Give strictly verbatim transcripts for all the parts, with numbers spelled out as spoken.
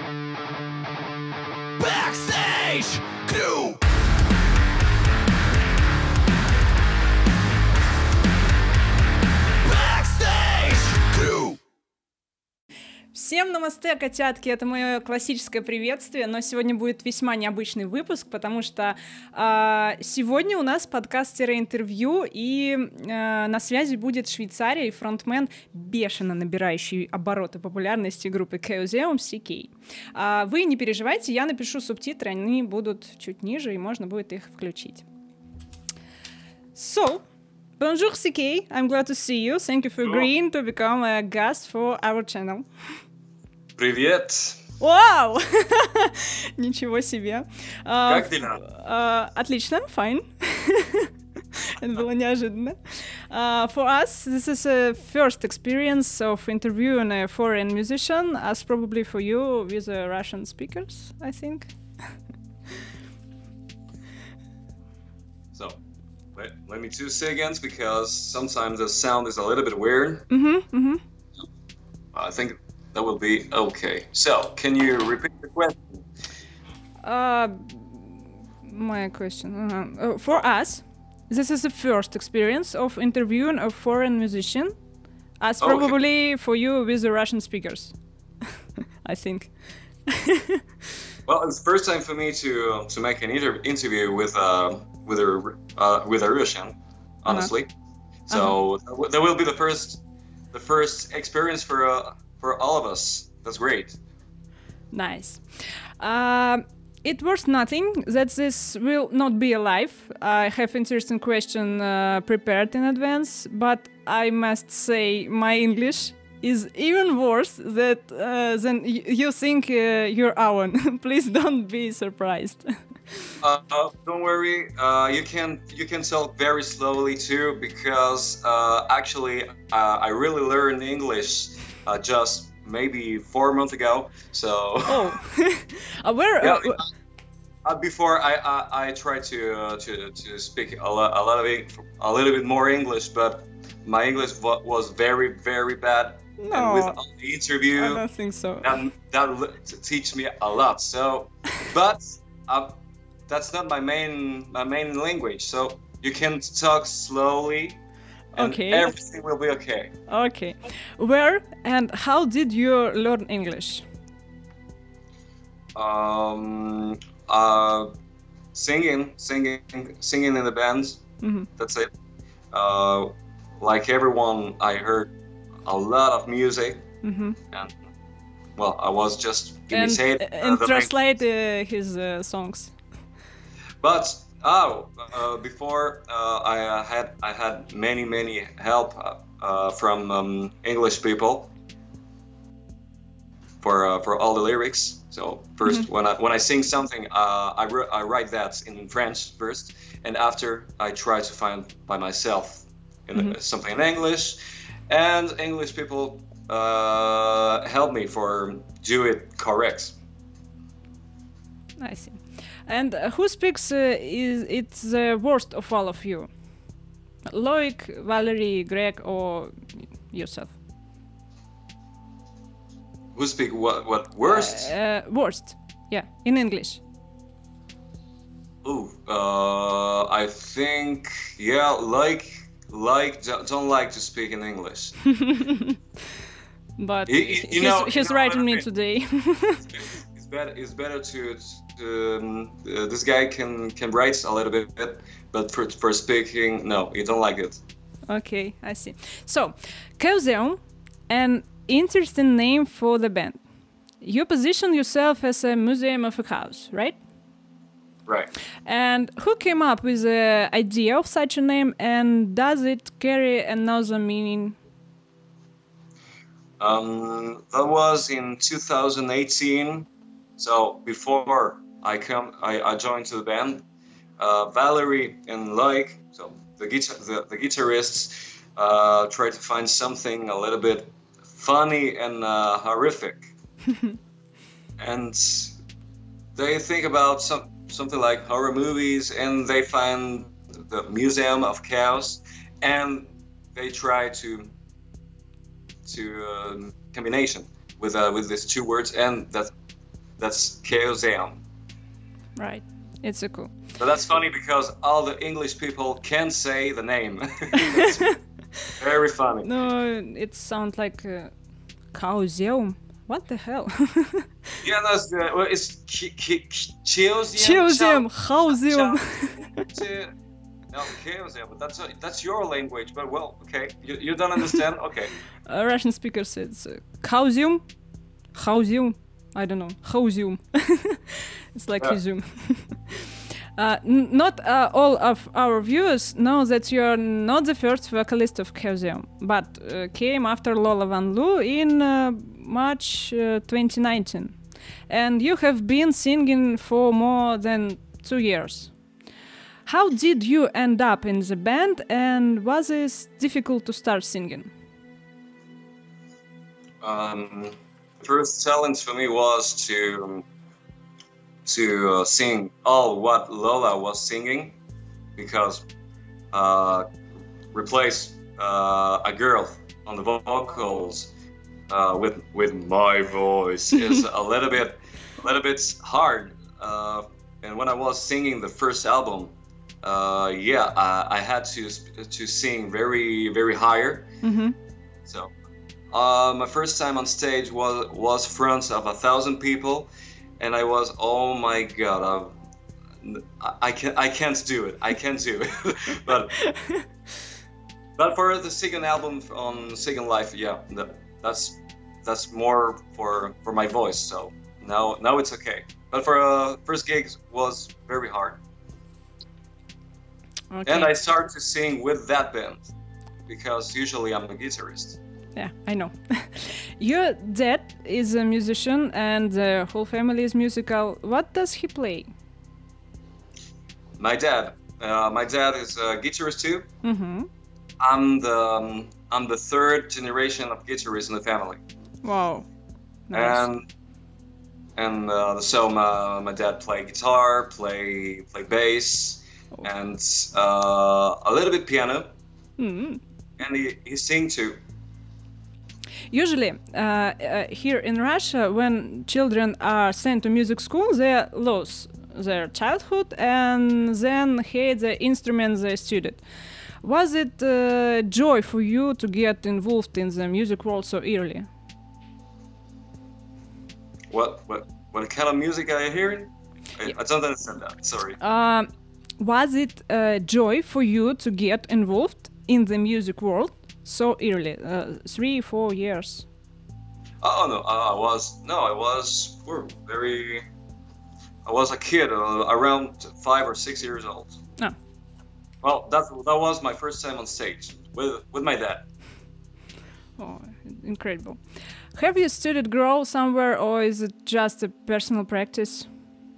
Backstage Crew. Всем намасте, котятки! Это мое классическое приветствие, но сегодня будет весьма необычный выпуск, потому что э, сегодня у нас подкаст-интервью, и э, на связи будет Швейцария и фронтмен, бешено набирающий обороты популярности группы Chaosium си кей. Э, вы не переживайте, я напишу субтитры, они будут чуть ниже, и можно будет их включить. So, bonjour си кей, I'm glad to see you. Thank you for agreeing to become a guest for our channel. Привет! Вау! Ничего себе. Как дела? Uh, отлично, fine. Это было неожиданно. Uh, for us, this is a first experience of interviewing a foreign musician, as probably for you with uh, Russian speakers, I think. So, let, let me two seconds, because sometimes the sound is a little bit weird. Mm-hmm, mm-hmm. I think that will be okay. So, can you repeat the question? Uh, my question. Uh-huh. Uh, for us, this is the first experience of interviewing a foreign musician, as Okay. probably for you with the Russian speakers, I think. Well, it's the first time for me to to make an inter- interview with uh with a uh, with a Russian, honestly. Uh-huh. So uh-huh. that will be the first the first experience for uh, for all of us. That's great. Nice. Uh, it was nothing that this will not be alive. I have interesting question uh, prepared in advance, but I must say my English is even worse that uh, than y- you think uh, your own. Please don't be surprised. Uh, uh, don't worry. Uh, you can you can talk very slowly too, because uh, actually uh, I really learned English uh, just maybe four months ago. So Oh, uh, where? yeah, Uh, uh, before I I, I tried to uh, to to speak a, lo- a lot of Eng- a little bit more English, but my English wa- was very very bad. And with no, all the I interview, don't think so. that that l- t- teach me a lot. So, but uh, that's not my main my main language. So you can talk slowly, and Okay. everything will be okay. Okay, where and how did you learn English? Um, uh, singing, singing, singing in the bands. Mm-hmm. That's it. Uh, like everyone, I heard a lot of music, Mm-hmm. and well, I was just And, imitating. uh, and the main- translate uh, his uh, songs. But oh, uh, before uh, I uh, had I had many many help uh, uh, from um, English people for uh, for all the lyrics. So 1st when I when I sing something, uh, I ri- I write that in French first, and after I try to find by myself in Mhm. something in English, and English people uh, help me for do it correct. I see. And uh, who speaks uh, is it's the worst of all of you? Loic, Valerie, Greg, or yourself? Who speak what what worst? Uh, uh, worst, yeah, in English. Ooh, uh, I think yeah, like like don't don't like to speak in English. But You- you- you he's, know- you he's know writing what I me mean. today. It's better it's better to, to um, uh, this guy can can write a little bit, but for for speaking, no, you don't like it. Okay, I see. So, Chaosium, an interesting name for the band. You position yourself as a museum of a house, right? Right. And who came up with the idea of such a name, and does it carry another meaning? Um, that was in two thousand eighteen. So before I come, I, I joined to the band. Uh, Valerie and Like, so the guitar, the, the guitarists, uh, tried to find something a little bit funny and uh, horrific, and they think about some something like horror movies, and they find the Museum of Chaos, and they try to to uh, combination with uh, with these two words, and that that's Chaosium. Right. It's a cool. But that's funny because all the English people can say the name. It's very funny. No, it sounds like uh, Chaosium. What the hell? Yeah, that's uh, well, it's Chaosium. Chaosium, Chaosium. No, Chaosium, but that's uh, that's your language. But well, okay, you, you don't understand. Okay. A Russian speaker said uh, Chaosium, Chaosium. I don't know, Chaosium. It's like Yeah. Zoom. Uh, n- not uh, all of our viewers know that you're not the first vocalist of Chaosium, but uh, came after Lola Van Loo in uh, March uh, twenty nineteen. And you have been singing for more than two years. How did you end up in the band, and was it difficult to start singing? Um, first challenge for me was to to uh, sing all what Lola was singing, because uh, replace uh, a girl on the vocals uh, with with my voice is a little bit a little bit hard. Uh, and when I was singing the first album, uh, yeah, I, I had to to sing very very higher. Mm-hmm. So uh, my first time on stage was was front of a thousand people. And I was, oh my god, I, I can't, I can't do it. I can't do it. but, but for the second album on Second Life, yeah, that, that's that's more for for my voice. So now now it's okay. But for uh, first gigs was very hard. Okay. And I started to sing with that band because usually I'm a guitarist. Yeah, I know. Your dad is a musician and the whole family is musical. What does he play? My dad. Uh, my dad is a guitarist too. Mm-hmm. I'm the um, I'm the third generation of guitarists in the family. Wow. Nice. And and uh, so my, my dad play guitar, play play bass, Oh. and uh, a little bit piano, Mm-hmm. and he, he sing too. Usually, uh, uh, here in Russia, when children are sent to music school, they lose their childhood and then hate the instruments they studied. Was it uh, joy for you to get involved in the music world so early? What what what kind of music are you hearing? I, I don't understand that. Sorry. Um, was it uh, joy for you to get involved in the music world so early, uh, three, four years? Oh no, uh, I was no, I was oh, very. I was a kid, uh, around five or six years old. Oh. Well, that that was my first time on stage with with my dad. Oh, incredible. Have you studied growl somewhere, or is it just a personal practice?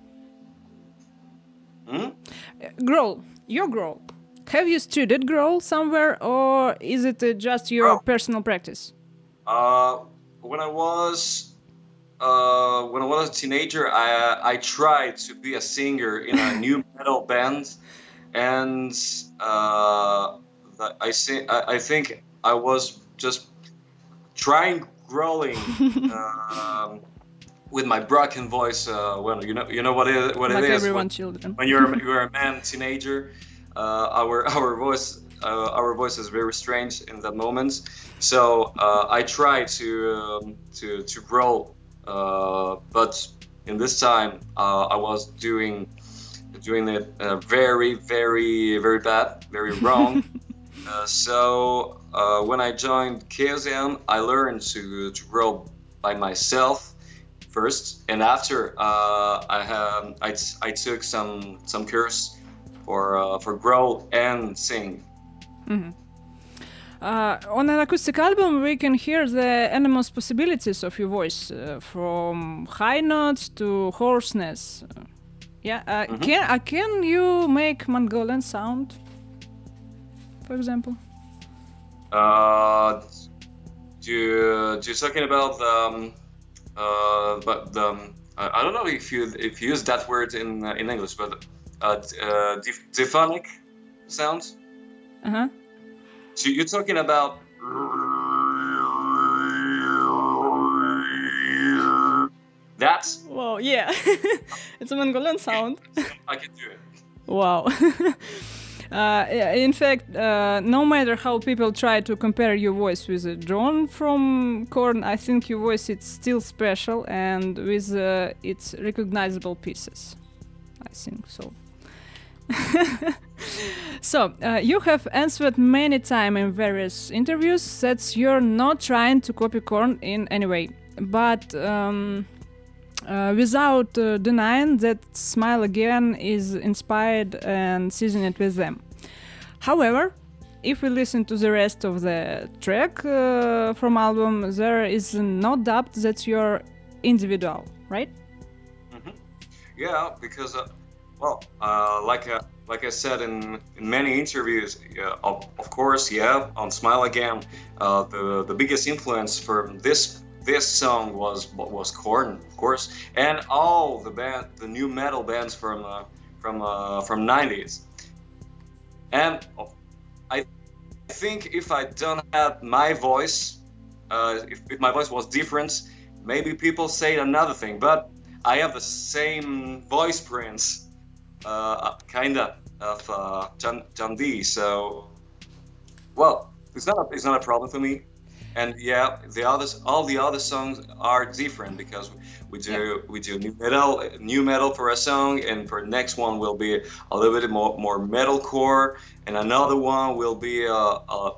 Hmm? Uh, growl, your growl. Have you studied growl somewhere, or is it uh, just your Oh. personal practice? Uh, when I was uh, when I was a teenager, I I tried to be a singer in a new metal band, and uh, that I say I, I think I was just trying growling um, with my broken voice. Uh, well, you know you know what it what Like it is everyone, when, children. when you're you're a man teenager. Uh, our our voice uh, our voice is very strange in that moment. So uh, I try to um, to to grow, uh, but in this time uh, I was doing doing it uh, very very very bad, very wrong. uh, so uh, when I joined Chaosium, I learned to to grow by myself first, and after uh, I have I, t- I took some some course for uh, for grow and sing. Mm-hmm. Uh, on an acoustic album, we can hear the enormous possibilities of your voice, uh, from high notes to hoarseness. Uh, yeah, uh, Mhm. can uh, can you make Mongolian sound, for example? Uh, do you, do you talking about the um, uh, but the um, I, I don't know if you if you use that word in uh, in English, but uh, d- uh, diph- diphonic sounds. Uh huh. So you're talking about That's Wow, yeah. It's a Mongolian sound. I can do it. Wow. Uh, in fact, uh, no matter how people try to compare your voice with uh, John from Korn, I think your voice is still special and with uh, its recognizable pieces. I think so. So, uh, you have answered many times in various interviews that you're not trying to copy Korn in any way, but um, uh, without uh, denying that Smile Again is inspired and seasoned with them. However, if we listen to the rest of the track uh, from album, there is no doubt that you're individual, right? Mm-hmm. Yeah, because uh, well, uh, like uh, like I said in, in many interviews, yeah, of, of course, yeah, on Smile Again, uh, the the biggest influence for this this song was was Korn, of course, and all the band, the new metal bands from uh, from uh, from nineties. And I think if I don't have my voice, uh, if, if my voice was different, maybe people say another thing. But I have the same voice prints, uh, kinda of uh, John, John D. So, well, it's not a, it's not a problem for me. And yeah, the others, all the other songs are different because we do yeah. we do new metal, new metal for a song, and for the next one will be a little bit more more metalcore, and another one will be a, a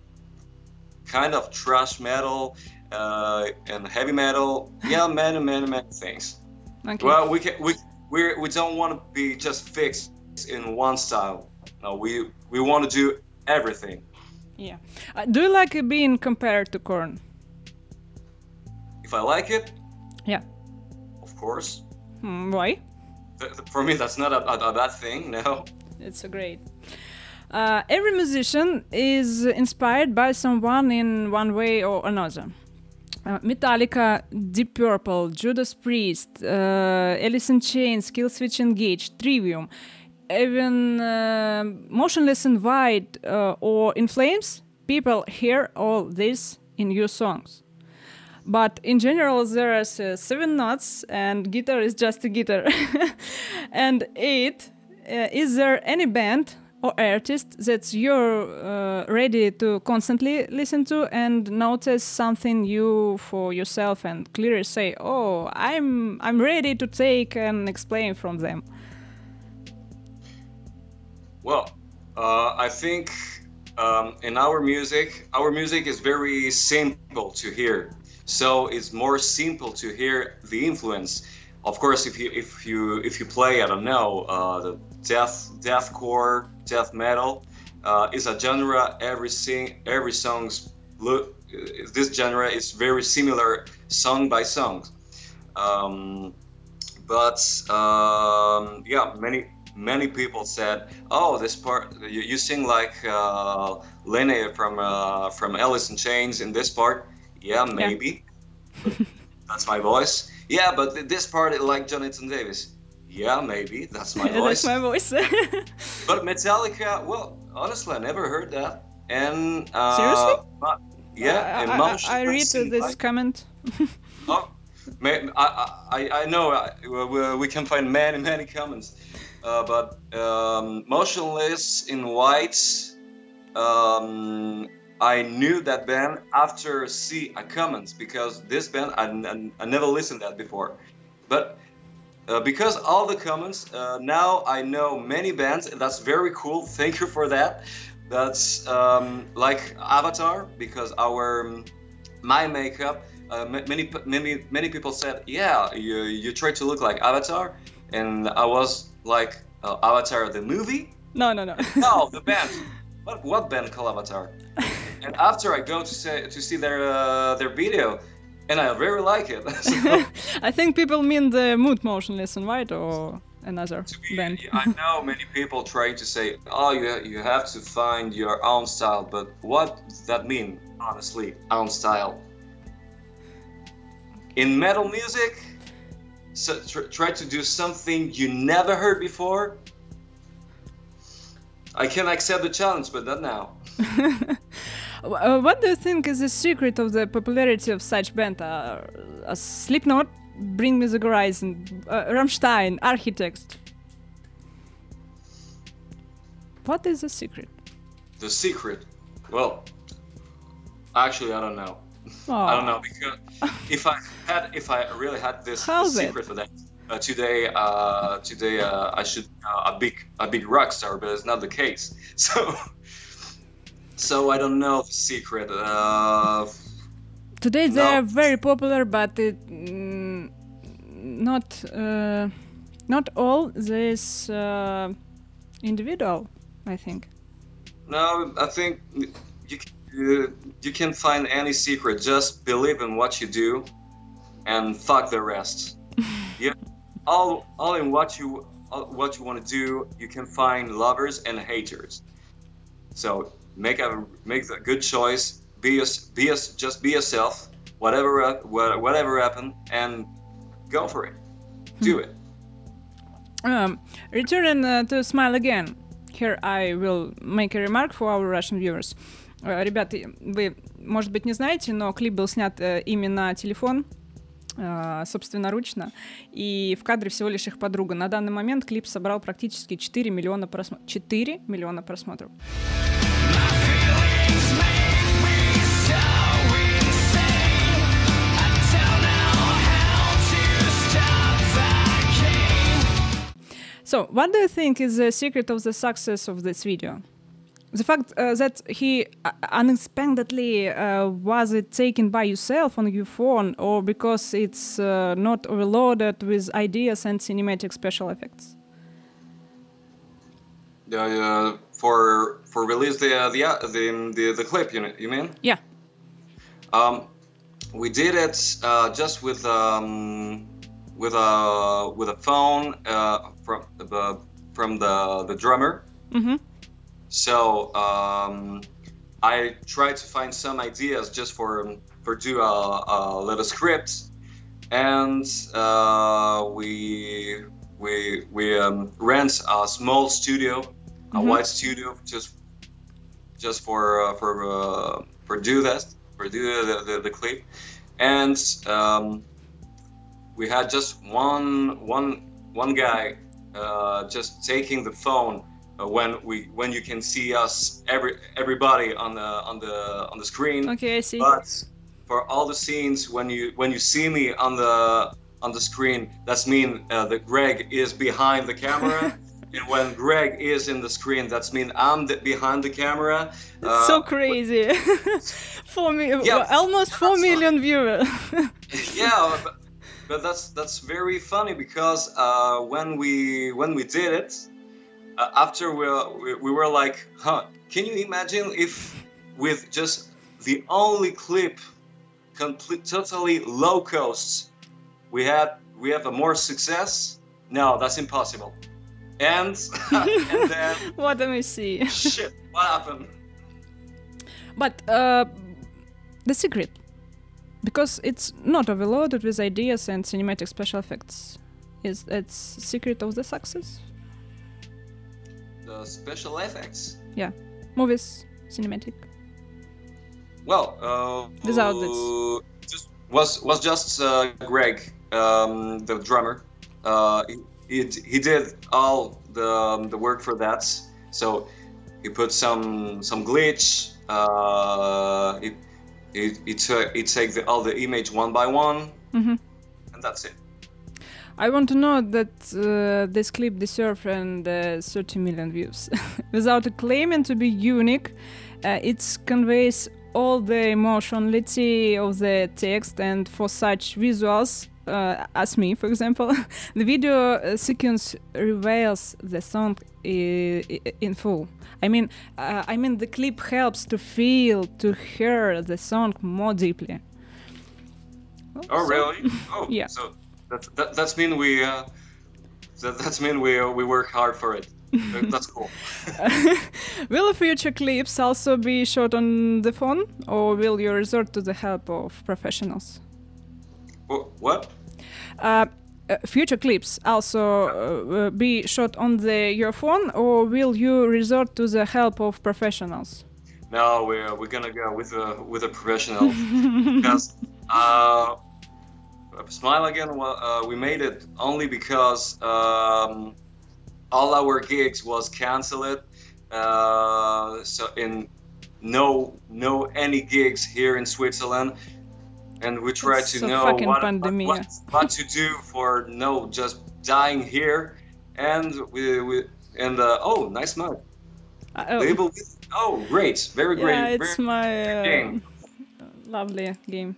kind of thrash metal uh, and heavy metal. Yeah, many many many things. Okay. Well, we can we we we don't want to be just fixed in one style. No, we we want to do everything. Yeah. Uh, do you like it being compared to Korn? If I like it? Yeah. Of course. Hmm, why? Th- th- for me, that's not a, a, a bad thing, no. It's so great. Uh, every musician is inspired by someone in one way or another. Uh, Metallica, Deep Purple, Judas Priest, uh, Alice in Chains, Killswitch Engage, Trivium, even uh, Motionless in White uh, or In Flames, people hear all this in your songs. But in general, there are uh, seven notes, and guitar is just a guitar. And eight, uh, is there any band or artist that you're uh, ready to constantly listen to and notice something new for yourself and clearly say, oh, I'm I'm ready to take and explain from them? Well, uh, I think um, in our music, our music is very simple to hear. So it's more simple to hear the influence. Of course, if you if you if you play, I don't know, uh, the death deathcore, death metal uh, is a genre. Every sing every song's look. This genre is very similar, song by song. Um, but um, yeah, many. Many people said, "Oh, this part you, you sing like uh, Lene from uh, from Alice in Chains in this part." Yeah, maybe. Yeah. That's my voice. Yeah, but th- this part like Jonathan Davis. Yeah, maybe that's my voice. That's my voice. But Metallica, well, honestly, I never heard that. And uh, seriously? But, yeah, uh, emotion. I, I, I read this like, comment. Oh, may, I, I I know I, we can find many many comments. Uh, but um, Motionless in White, um, I knew that band after see a comment because this band I, I, I never listened to that before. But uh, because all the comments, uh, now I know many bands. And that's very cool. Thank you for that. That's um, like Avatar because our my makeup. Uh, many many many people said, yeah, you you try to look like Avatar, and I was. Like uh, Avatar the movie? No, no, no. No, the band. What what band called Avatar? And after I go to say to see their uh, their video, and I very like it. So, I think people mean the Mood Motionless in White or another be, band. I know many people trying to say, oh, you you have to find your own style, but what does that mean? Honestly, own style. In metal music. So tr- try to do something you never heard before. I can accept the challenge, but not now. uh, what do you think is the secret of the popularity of such band? Uh, uh, Slipknot, Bring Me the Horizon, uh, Rammstein, Architect. What is the secret? The secret? Well, actually, I don't know. Oh. I don't know because if I had, if I really had this, this secret for that, uh, today, uh, today uh, I should uh, a big, a big rock star, but it's not the case. So, so I don't know the secret. Uh, today no. they are very popular, but it, mm, not, uh, not all this uh, individual, I think. No, I think you. You, you can't find any secret. Just believe in what you do, and fuck the rest. Yeah, all all in what you all, what you want to do. You can find lovers and haters. So make a make a good choice. Be a, be a, just be yourself. Whatever whatever happen, and go for it. Do it. Um, returning uh, to Smile Again. Here I will make a remark for our Russian viewers. Ребята, вы, может быть, не знаете, но клип был снят э, именно на телефон, э, собственноручно, и в кадре всего лишь их подруга. На данный момент клип собрал практически четыре миллиона просмотров. четыре миллиона просмотров. So, what do you think is the secret of the success of this video? The fact uh, that he uh, unexpectedly uh, was it taken by yourself on your phone, or because it's uh, not overloaded with ideas and cinematic special effects? Uh, uh, for for release the uh, the, uh, the the the clip, you you mean? Yeah. Um, we did it uh, just with um with a with a phone uh, from the from the the drummer. Mm-hmm. So um, I tried to find some ideas just for for do a, a little script, and uh, we we we um, rent a small studio, a Mm-hmm. white studio, just just for uh, for uh, for do that for do the the, the clip, and um, we had just one one one guy uh, just taking the phone. Uh, when we when you can see us every everybody on the on the on the screen. Okay, I see. But for all the scenes when you when you see me on the on the screen, that's mean uh, that Greg is behind the camera. And when Greg is in the screen, that's mean I'm the, behind the camera. It's uh, so crazy. four mi- Yeah, almost four that's million viewers. Yeah, but, but that's that's very funny because uh, when we when we did it. Uh, after we, we we were like, huh, can you imagine if with just the only clip, complete, totally low cost, we had we have a more success? No, that's impossible. And and then What am I see? shit, what happened? But uh, the secret, because it's not overloaded with ideas and cinematic special effects, is it's secret of the success? The special effects. Yeah, movies, cinematic. Well, uh, Without uh, just was was just uh, Greg, um, the drummer. Uh, he, he he did all the um, the work for that. So he put some some glitch. Uh, he he he, took he take the, all the image one by one, Mm-hmm. and that's it. I want to know that uh, this clip deserves and uh, thirty million views. Without claiming to be unique, uh, it conveys all the emotionality of the text, and for such visuals, uh, as me, for example, the video uh, sequence reveals the song I- I- in full. I mean, uh, I mean, the clip helps to feel, to hear the song more deeply. Well, Oh so- really? Oh Yeah. So that that that's mean we uh, that that's mean we uh, we work hard for it. That- That's cool. Will future clips also be shot on the phone, or will you resort to the help of professionals? Wh- What? Uh, uh, future clips also uh, uh, be shot on the your phone, or will you resort to the help of professionals? No, we're we're gonna go with a with a professional because uh, Smile Again, well, uh, we made it only because um, all our gigs was canceled. Uh, so in no no any gigs here in Switzerland, and we try It's to so know fucking what, what, pandemia. what what to do for no just dying here, and we we and uh, oh nice mug. Uh, oh, Label with, oh great, very great, yeah, it's very my uh, game. lovely game.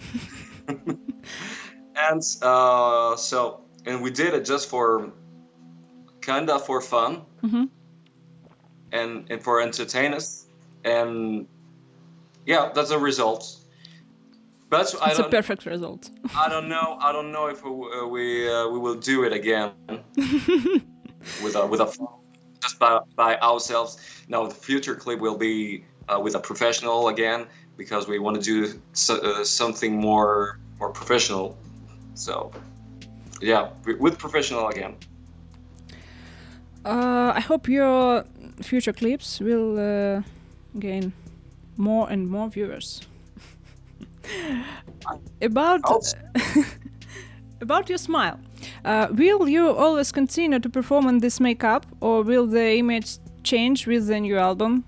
And uh, so and we did it just for kinda for fun. Mm-hmm. and and for entertainers, and yeah, that's a result. But I It's a don't perfect result. I don't know I don't know if we uh, we, uh, we will do it again with a with a just by, by ourselves. No, the future clip will be uh, with a professional again, because we want to do so, uh, something more more professional. So yeah, with professional again. Uh, I hope your future clips will uh, gain more and more viewers. About about your smile, uh, will you always continue to perform in this makeup, or will the image change with the new album?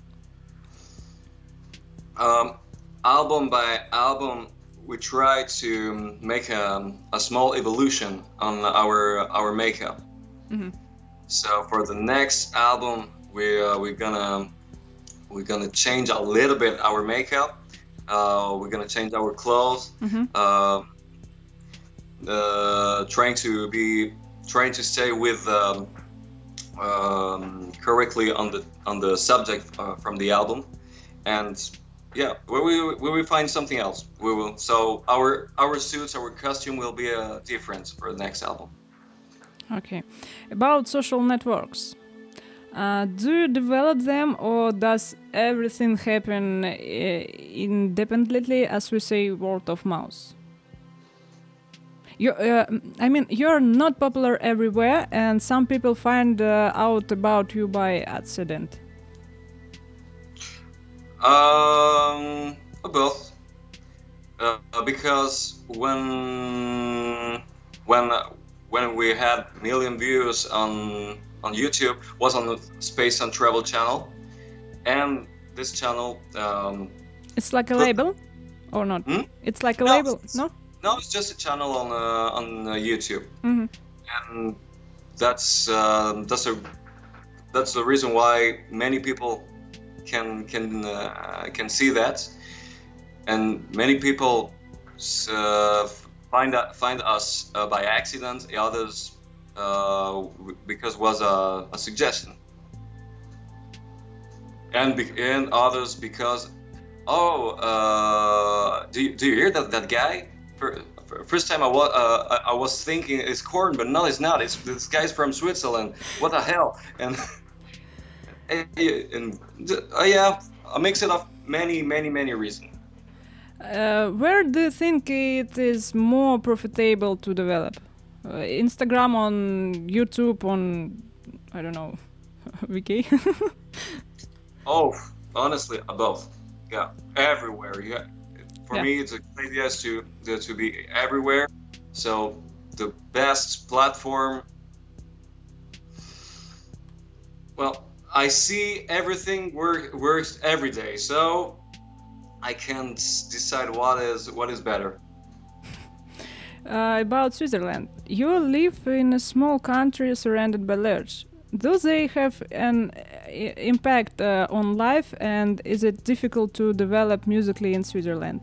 Um, album by album, we try to make a, a small evolution on our our makeup. Mm-hmm. So for the next album, we uh, we're gonna we're gonna change a little bit our makeup. Uh, we're gonna change our clothes. Mm-hmm. Uh, uh, trying to be trying to stay with um, um, correctly on the on the subject uh, from the album, and yeah, we we we will find something else. We will. So our our suits, our costume will be uh, different for the next album. Okay. About social networks, uh, do you develop them, or does everything happen uh, independently, as we say, word of mouth? You, uh, I mean, you're not popular everywhere, and some people find uh, out about you by accident. Um, both. Uh, because when when when we had million views on on YouTube, was on the Space and Travel channel, and this channel. Um, It's like a label, or not? Hmm? It's like a No, label, it's- no? no, it's just a channel on uh, on uh, YouTube, Mm-hmm. and that's uh, that's a that's the reason why many people can can uh, can see that, and many people uh, find find us uh, by accident. The others uh, because was a, a suggestion, and be, and others because oh uh, do you, do you hear that that guy? For, for first time I was uh, I, I was thinking it's corn, but no, it's not. It's this guy's from Switzerland. What the hell? And and uh, yeah, a mix it of many many many reasons. Uh, where do you think it is more profitable to develop? Uh, Instagram, on YouTube, on, I don't know, Wiki? Oh, honestly, both. Yeah, everywhere. Yeah, for Yeah. me, it's a great idea to to be everywhere. So the best platform. Well, I see everything work, works every day, so I can't decide what is what is better. Uh, about Switzerland, you live in a small country surrounded by lakes. Do they have an uh, impact uh, on life, and is it difficult to develop musically in Switzerland?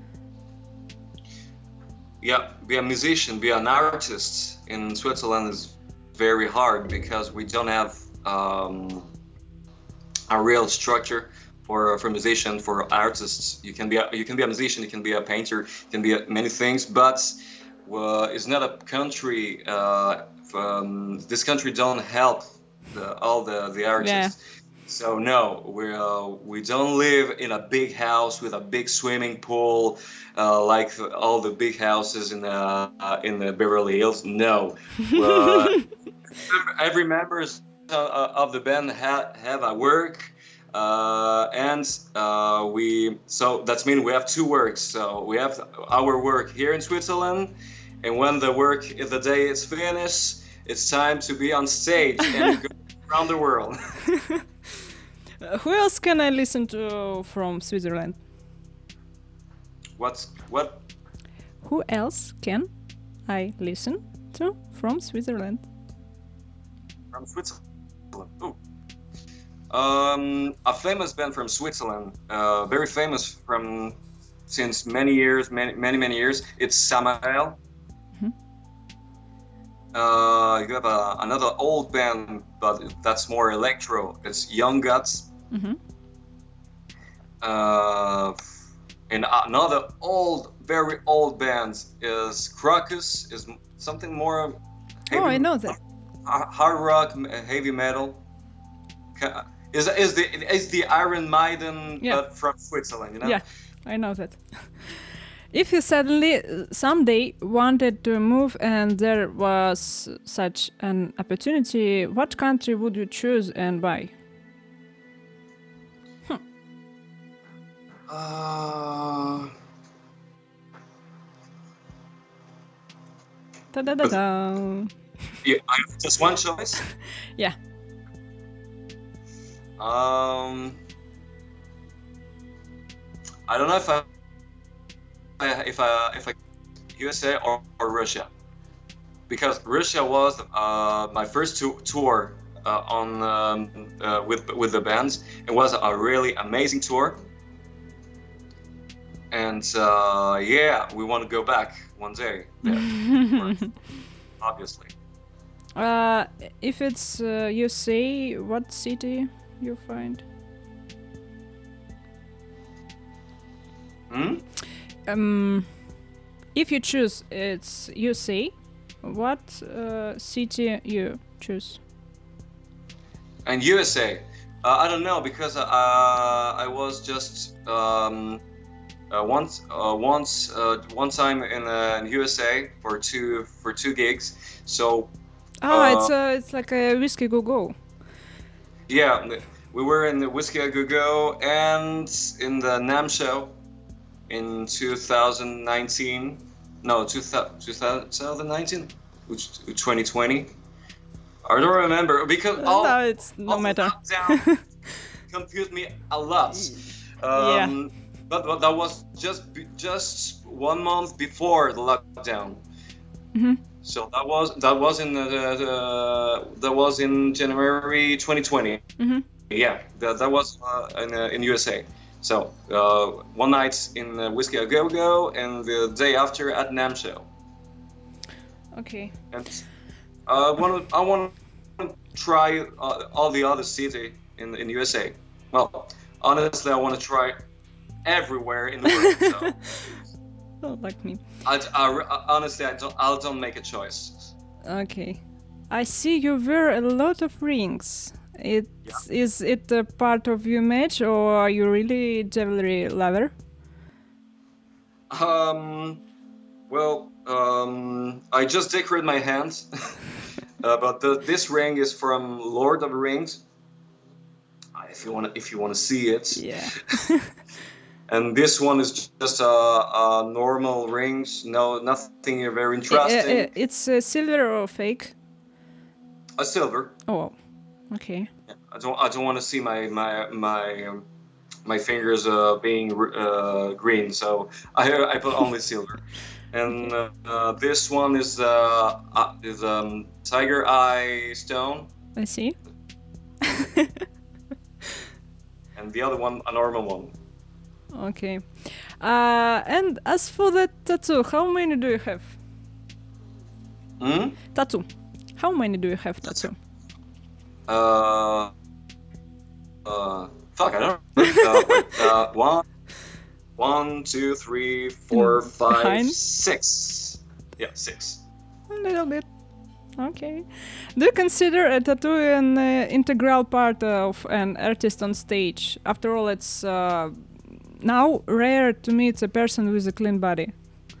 Yeah, be a musician, be an artist in Switzerland is very hard because we don't have um, a real structure for for musician, for artists. You can be a, you can be a musician, you can be a painter, you can be a, many things, but uh, it's not a country. Uh, um, this country don't help the, all the the artists. Yeah. So no, we uh, we don't live in a big house with a big swimming pool, uh, like all the big houses in the uh, in the Beverly Hills. No, uh, every members uh, of the band ha- have a work. Uh, and uh, we so that's mean we have two works. So we have our work here in Switzerland, and when the work the day is finished, it's time to be on stage and go around the world. Uh, who else can I listen to from Switzerland? What's what? Who else can I listen to from Switzerland? From Switzerland. Ooh. Um, a famous band from Switzerland, uh, very famous from since many years, many many many years. It's Samael. Mhm. Uh, you have a, another old band, but that's more electro. It's Young Guts. Mm-hmm. Uh, and another old, very old band is Crocus. Is something more. Oh, I know that. Hard rock, heavy metal. Is is the is the Iron Maiden, Yeah. but from Switzerland, you know? Yeah, I know that. If you suddenly uh, someday wanted to move and there was such an opportunity, what country would you choose and why? Uh, Da da da da. yeah, I have just one choice. Yeah. Um, I don't know if I, if I, if I, U S A or, or Russia, because Russia was uh, my first tu- tour uh, on um, uh, with with the bands. It was a really amazing tour, and uh, yeah, we want to go back one day. There, obviously. Uh, if it's uh, U S A, what city you find? Hmm? Um, if you choose it's U S A, what uh, city you choose? And U S A, uh, I don't know because uh, I was just um, uh, once uh, once uh, one time in, uh, in U S A for two for two gigs. So Oh, Uh, it's uh, it's like a Whiskey Go Go. yeah, we were in the Whiskey A Go Go and in the NAMM show in two thousand nineteen. No, two thousand nineteen, which twenty twenty. I don't remember because all, no, it's no all the matter. lockdown confused me a lot. Yeah. Um, but, but that was just be- just one month before the lockdown. Mhm. So that was that was in the, the that was in January twenty twenty. Mhm. Yeah, that that was uh, in uh, in U S A. So uh, one night in uh, Whiskey A Go Go and the day after at NAMM show. Okay. And uh, one I want to try uh, all the other city in in U S A. Well, honestly, I want to try everywhere in the world. So. Oh, like me. I, I, honestly, I don't. I don't make a choice. Okay. I see you wear a lot of rings. It is it a part of your image, or are you really jewelry lover? Um, well, um, I just decorate my hands, uh, but the, this ring is from Lord of the Rings. Uh, If you want, if you want to see it, Yeah. and this one is just a, a normal rings. No, nothing very Uh, interesting. uh, it's uh, silver or fake? A silver. Oh, okay. I don't. I don't want to see my my my um, my fingers uh, being uh, green, so I I put only silver. And uh, uh, this one is uh, uh, is um, tiger eye stone, I see. and the other one a normal one. Okay. Uh, and as for the tattoo, how many do you have? Hmm? Tattoo. How many do you have tattoo? Uh, uh, fuck, I don't know. Uh, wait, uh, one, one, two, three, four, Mm, five, behind? six. Yeah, six. A little bit. Okay. Do you consider a tattoo an uh, integral part of an artist on stage? After all, it's uh, now rare to meet a person with a clean body.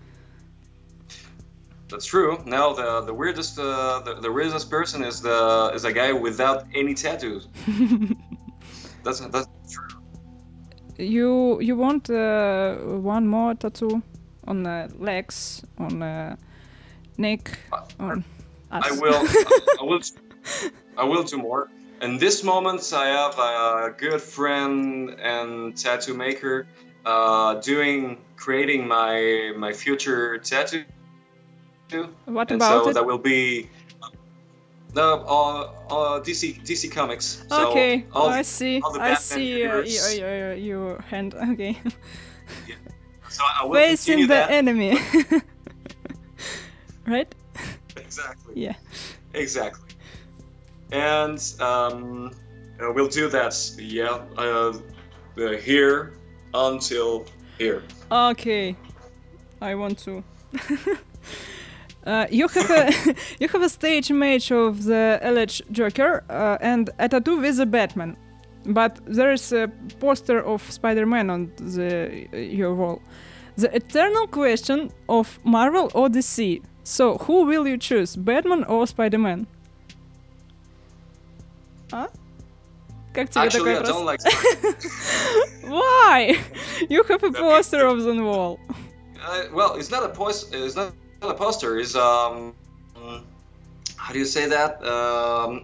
That's true. Now the the weirdest uh, the, the weirdest person is the is a guy without any tattoos. that's that's true. You you want uh, one more tattoo on the legs, on the neck, on us? I will. I will. I will do more. In this moment, I have a good friend and tattoo maker uh, doing creating my my future tattoo. What and about so it? that will be the uh, uh, D C D C Comics. So Okay, all I the, see. all the I Batman see uh, universe. y- y- y- your hand. Okay. Yeah. So I will Facing continue the that. enemy. Right? Exactly. Yeah. Exactly. And um, uh, we'll do that. Yeah. Uh, uh, here until here. Okay. I want to. uh, you have a you have a stage image of the alleged Joker uh, and a tattoo with a Batman, but there is a poster of Spider-Man on the uh, your wall. The eternal question of Marvel or D C. So who will you choose, Batman or Spider-Man? А? Как тебе Actually, такой I вопрос? don't like Spider-Man. Why? You have a poster of the wall. Uh, well, it's not a post. It's not, not a poster. It's um, mm, how do you say that? Um,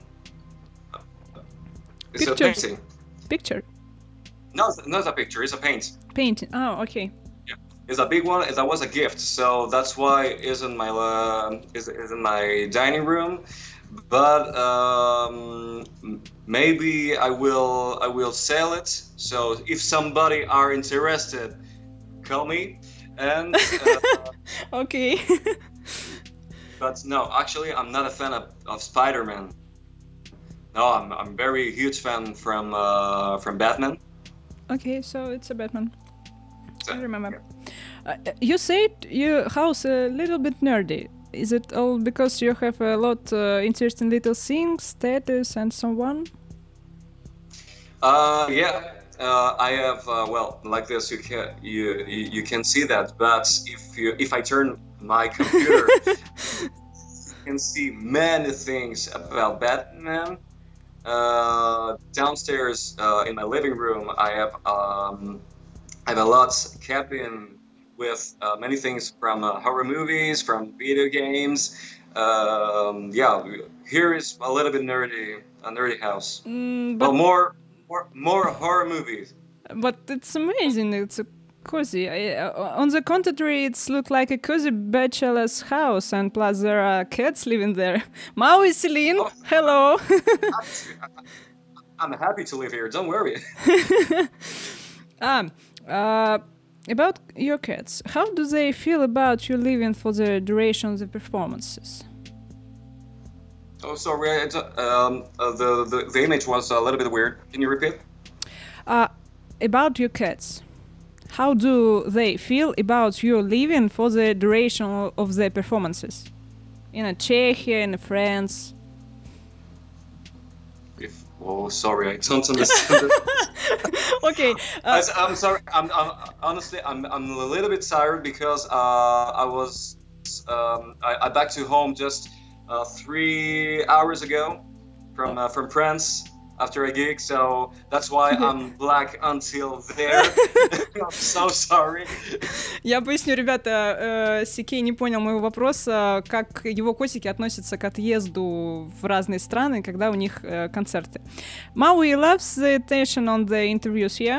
it's Pictures. a painting. Picture. No, it's not a picture. It's a paint. Painting. Oh, okay. It's a big one. That was a gift, so that's why it's in my uh, is is in my dining room. But um, maybe I will I will sell it. So if somebody are interested, call me. And uh, Okay. but no, actually, I'm not a fan of, of Spider-Man. No, I'm I'm very huge fan from uh, from Batman. Okay, so it's a Batman. So, I remember. Uh, you said your house a little bit nerdy. Is it all because you have a lot uh, interesting little things, tattoos, and so on? Uh, yeah, uh, I have. Uh, well, like this, you can you, you you can see that. But if you if I turn my computer, you can see many things about Batman. Uh, downstairs uh, in my living room, I have um, I have a lot cabin with uh, many things from uh, horror movies, from video games. Um, yeah, here is a little bit nerdy, a nerdy house. Mm, Well, but more, more, more horror movies. but it's amazing. It's a cozy. I, uh, on the contrary, it's look like a cozy bachelor's house, and plus there are cats living there. Maui, Celine, Oh. hello. I'm happy to live here. Don't worry. um, uh, about your cats, how do they feel about you living for the duration of the performances? Oh, sorry. It's, um, uh, the, the the image was a little bit weird. Can you repeat? Uh, about your cats, how do they feel about you living for the duration o- of the performances? In a Czechia, in France? If oh, sorry, I don't understand. Okay. Uh, I, I'm sorry. I'm, I'm honestly, I'm I'm a little bit tired because uh, I was um, I, I back to home just uh, three hours ago from uh, from France after a gig, so that's why I'm black until there. I'm so sorry. Я поясню, ребята, э, Сикей не понял моего вопроса, как его котики относятся к отъезду в разные страны, когда у них э, концерты. Maui loves the attention on the interviews, yeah?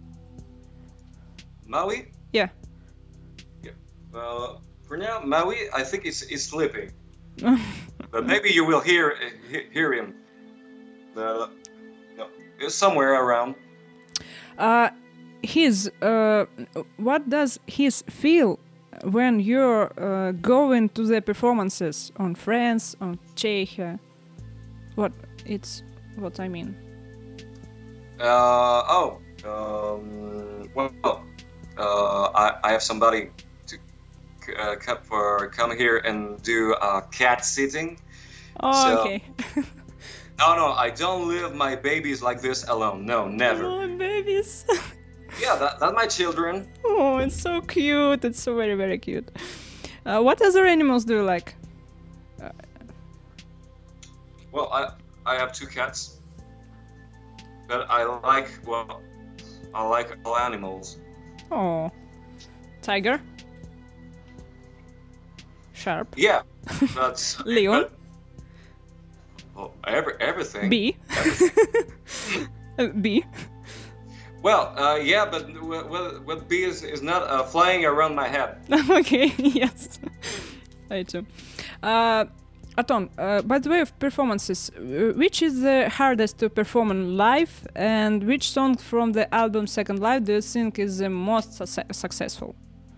Maui? Yeah. Yeah. Well, for now, Maui, I think is is sleeping, but maybe you will hear he- hear him. Uh, no, it's somewhere around. Uh, his, uh, what does his feel when you're uh, going to the performances on France, on Czechia? What it's what I mean. Uh, oh, um, well, uh, I, I have somebody to uh, come for come here and do uh, cat sitting. Oh, So- okay. No, no, I don't leave my babies like this alone. No, never. Oh, babies. Yeah, that that's my children. Oh, it's so cute. It's so very, very cute. Uh, what other animals do you like? Well, I I have two cats. but I like well, I like all animals. Oh, tiger, sharp, Yeah, but leon, but, oh, every, everything. bee, everything. Uh, bee. Well, uh, yeah, but well, well, bee is, is not uh, flying around my head. Okay, yes, I too. Uh, Aton, uh, by the way of performances, uh, which is the hardest to perform in live, and which song from the album Second Life do you think is the most su- successful?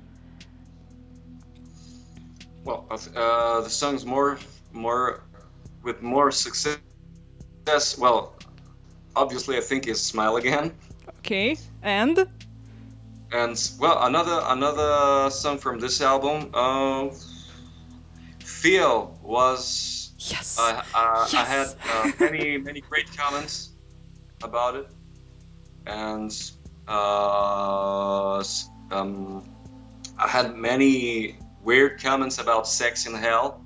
Well, uh, the songs more, more, with more success. Well, obviously, I think is "Smile Again." Okay, and And well, another another song from this album, uh, "Feel" was. yes, Uh, uh, yes. I had uh, many many great comments about it, and uh, um, I had many weird comments about "Sex in Hell."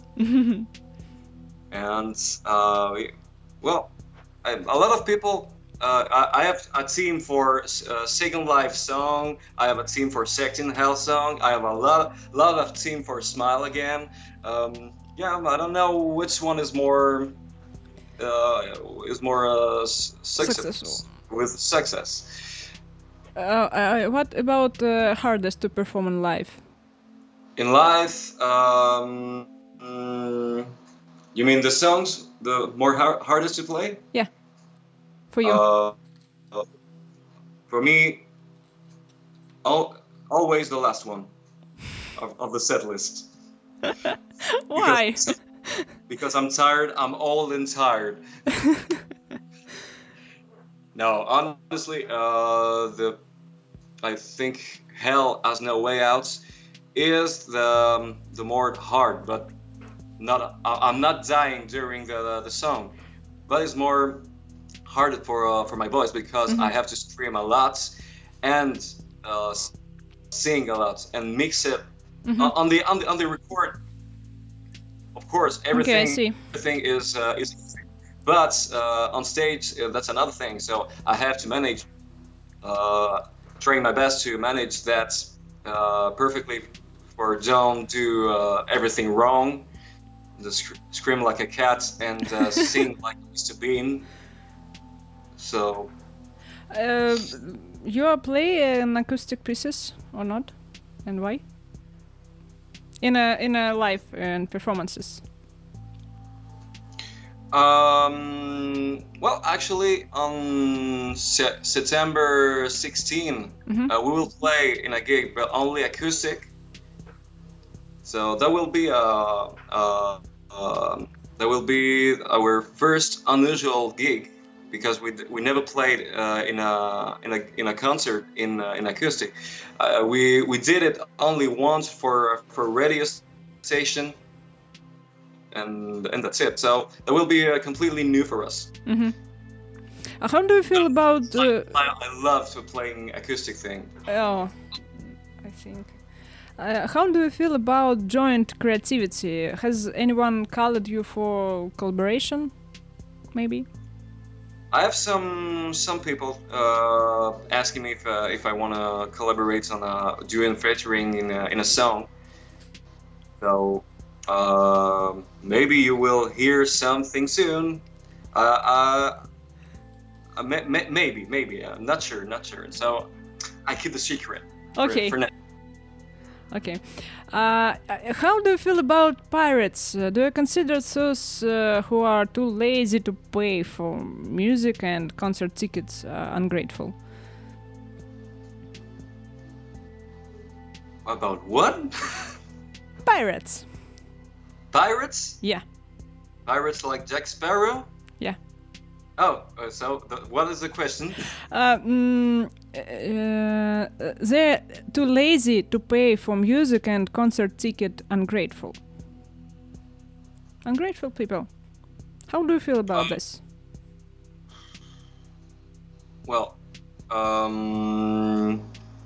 And uh, well, I, a lot of people. Uh, I, I have a team for uh, Second Life song. I have a team for Sex in Hell song. I have a lot, lot of team for Smile Again. Um, yeah, I don't know which one is more uh, is more uh, success Successful. with success. Uh, uh, what about uh, hardest to perform in live? In live, um, mm, you mean the songs, the more har- hardest to play? Yeah, for you. Uh, uh, for me, al- always the last one of, of the set list. Why? Because, because I'm tired. I'm old and tired. No, honestly, uh, the I think Hell Has No Way Out is the um, the more hard, but not. I, I'm not dying during the the song, but it's more harder for uh, for my voice because Mhm. I have to scream a lot and uh, sing a lot and mix it Mhm. uh, on the on the on the record. Of course, everything Okay, I see. everything is uh, is easy. But uh, on stage uh, that's another thing. So I have to manage, uh, trying my best to manage that uh, perfectly, for don't do uh, everything wrong, just sc- scream like a cat and uh, sing like Mister Bean. So Uh, you play an acoustic pieces or not, and why? In a in a live and performances. Um, well, actually, on se- September sixteenth, Mhm. uh, we will play in a gig, but only acoustic. So that will be a, a, um that will be our first unusual gig because we d- we never played uh, in a in a in a concert in uh, in acoustic. Uh, we we did it only once for for radio station. And, and that's it. So that will be uh, completely new for us. Mm-hmm. Uh, how do you feel about? Uh, I, I love to playing acoustic thing. oh, I think. Uh, how do you feel about joint creativity? Has anyone called you for collaboration? Maybe. I have some some people uh, asking me if uh, if I want to collaborate on a doing featuring in a, in a song. So uh, maybe you will hear something soon. Uh, uh, uh, may, may, maybe maybe I'm not sure not sure. So I keep the secret. Okay. For, for now. Okay. Uh, how do you feel about pirates? Uh, do you consider those uh, who are too lazy to pay for music and concert tickets uh, ungrateful? About what? Pirates. Pirates? Yeah. Pirates like Jack Sparrow? Yeah. Oh, uh, so the, what is the question? Uh, mm, uh, they're too lazy to pay for music and concert ticket ungrateful. Ungrateful people. How do you feel about Um, this? Well, um,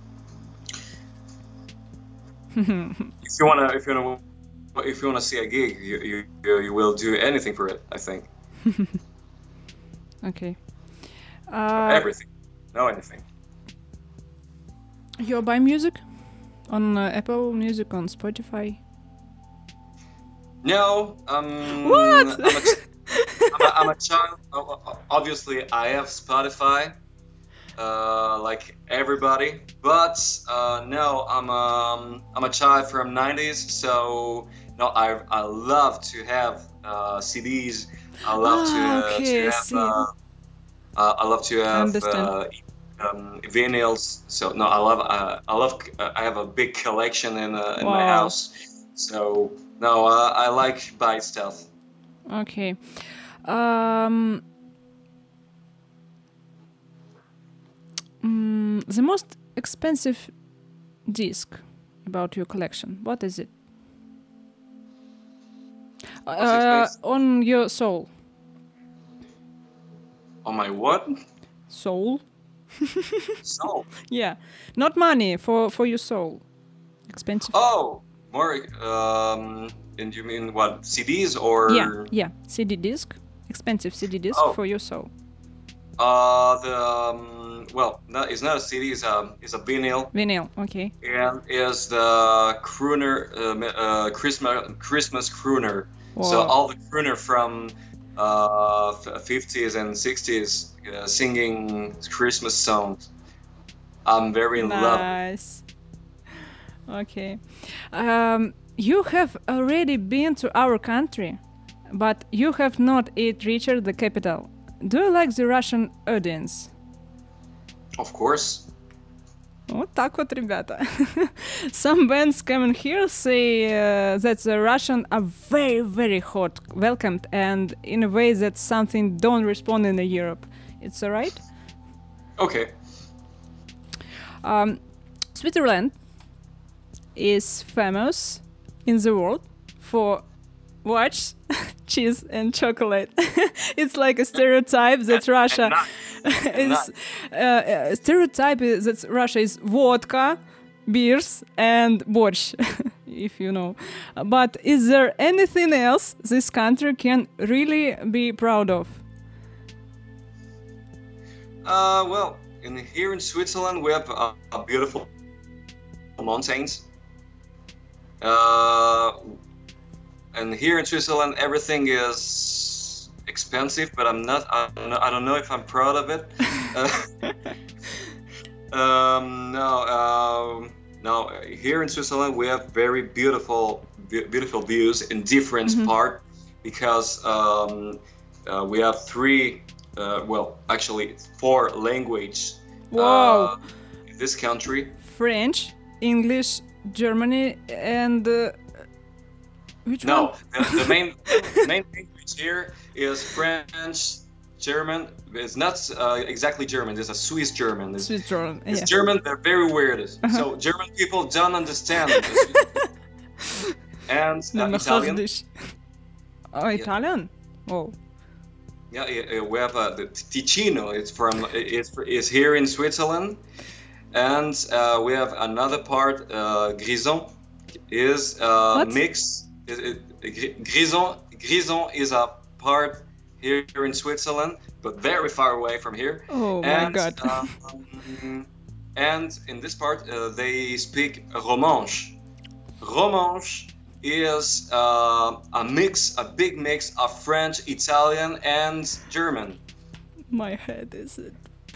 if you wanna, if you wanna, if you wanna see a gig, you you you will do anything for it. I think. Okay. Uh, Everything. No anything. You buy music on uh, Apple Music, on Spotify? No. Um, What? I'm a, I'm a, I'm a child. Obviously, I have Spotify, uh, like everybody. But uh, no, I'm um, I'm a child from nineties, so no, I I love to have uh, C Ds. I love Ah, to uh, okay, to I have. see. Uh, uh, I love to I have understand. uh, um, vinyls. So no, I love. Uh, I love. Uh, I have a big collection in uh, in my Wow. house. So no, uh, I like buy stuff. Okay. Um, mm, the most expensive disc about your collection, what is it? What's Uh, expensive? on your soul. On my what? Soul? Soul. Yeah. Not money, for, for your soul. Expensive. Oh, more. Um, and you mean what? C Ds or? Yeah, yeah. C D disc. Expensive C D disc Oh. for your soul. Uh, the um, well, no, it's not a C D. It's a it's a vinyl. Vinyl, okay. And is the crooner uh, uh, Christmas Christmas crooner. Wow. So all the crooner from uh, fifties and sixties uh, singing Christmas songs. I'm very in love. Nice. Okay. Um, you have already been to our country, but you have not yet reached the capital. Do you like the Russian audience? Of course. Вот так вот, ребята. Some bands coming here say uh, that the Russian are very, very hot, welcomed, and in a way that something don't respond in Europe. It's alright? Okay. Um, Switzerland is famous in the world for watch, cheese, and chocolate. It's like a stereotype that Russia is uh, a stereotype is that Russia is vodka, beers, and borщ, if you know. But is there anything else this country can really be proud of? Uh, well, in here in Switzerland, we have uh, a beautiful mountains. Uh, and here in Switzerland, everything is expensive, but I'm not. I don't know, I don't know if I'm proud of it. Uh, um, no, um, no. Here in Switzerland, we have very beautiful, be- beautiful views in different Mhm. part because um, uh, we have three. Uh, well, actually, four language. Wow. Uh, in this country. French, English, Germany, and uh, which No, one? the, the main main language here is French, German. It's not uh, exactly German. It's a Swiss German. It's, Switzerland. it's Yeah. German. They're very weird. Uh-huh. So German people don't understand. And uh, No, Italian. Dish. Oh, Italian. Oh. Yeah, yeah, we have uh, the Ticino. It's from it's is here in Switzerland, and uh, we have another part. Uh, Grison is uh, What? mix. It, it, Grison Grison is a part here in Switzerland, but very far away from here. Oh and, my God. um, and in this part, uh, they speak Romanche. Romanche is uh, a mix, a big mix of French, Italian, and German. My head is it.